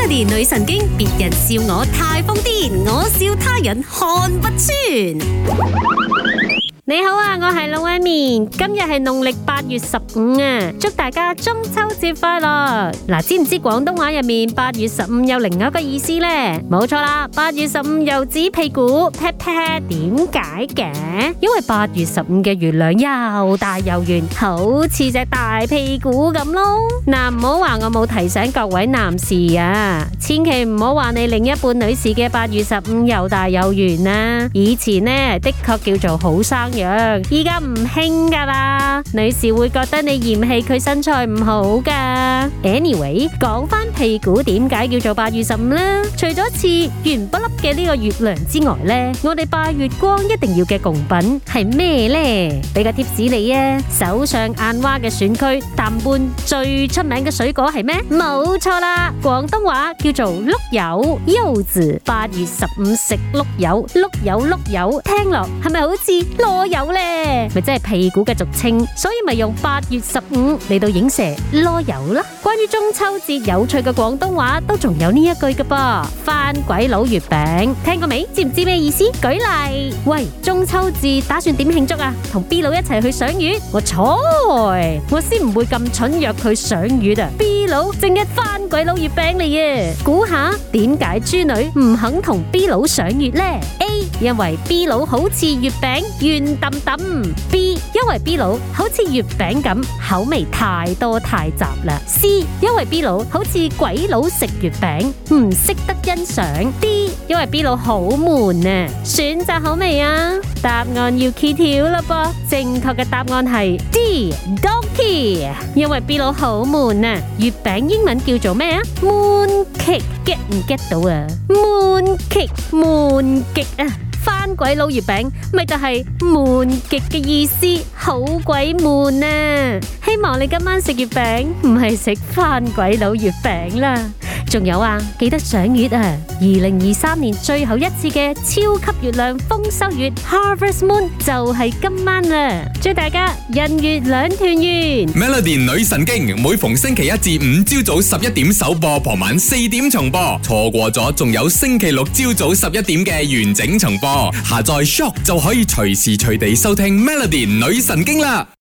Melody 女神經，別人笑我太瘋癲，我笑他人看不穿。你好啊，我係老威面，今日係農曆8月15啊，祝大家中秋節快樂。嗱，知唔知廣東話入面8月15有另外一個意思呢？冇錯啦，8月15又指屁股 pat pat， 點解嘅？因為8月15嘅月亮又大又圓，好似隻大屁股咁咯。嗱，唔好話我冇提醒各位男士啊，千祈唔好話你另一半女士嘅8月15又大又圓啊。以前呢，的確叫做好生樣，依家唔興噶啦，女士會覺得你嫌棄佢身材唔好噶。Anyway， 講翻屁股點解叫做8月15呢？除咗似圓不粒嘅呢個月亮之外呢，我哋拜月光一定要嘅貢品係咩呢？俾個貼士你啊，手上眼蛙嘅選區淡半最出名嘅水果係咩？冇錯啦，廣東話叫做碌柚，柚子。8月15食碌柚，碌柚碌柚，聽落係咪好似攞柚呢？咪即係屁股嘅俗稱，所以咪用8月15嚟到影射攞柚啦。關於中秋節有趣嘅廣東話都仲有呢一句嘅噃，番鬼佬月餅，聽過未？知唔知咩意思？舉例，喂，中秋節打算點慶祝啊？同 B 佬一齊去賞月？我先唔會咁蠢約佢賞月啊！ B 佬正一番鬼佬月餅嚟嘅，估下點解豬女唔肯同 B 佬賞月呢？ A， 因為 B 佬好似月餅圓揼揼。 B， 因為 B 佬好似月餅咁口味太多太雜啦。 C， 因為 B 佬好似鬼佬食月餅唔識得欣賞。 D， 因為 B 佬好悶啊。選擇好未啊？答案要揭曉啦噃，正確嘅答案係 D， Donkey。 因為 B 佬好悶啊。月餅英文叫做咩啊？ Mooncake，get 唔 get 到啊？ Mooncake， 悶極啊！番鬼佬月餅咪就係悶極嘅意思，好鬼悶啊！希望你今晚食月餅唔係食番鬼佬月餅啦。仲有啊，記得賞月啊！2023年最後一次嘅超級月亮豐收月 Harvest Moon 就係今晚啦！祝大家人月兩團圓。 Melody 女神經每逢星期一至五朝早11點首播，傍晚4點重播。錯過咗仲有星期六朝早11點嘅完整重播。下載 Shock 就可以隨時隨地收聽 Melody 女神經啦。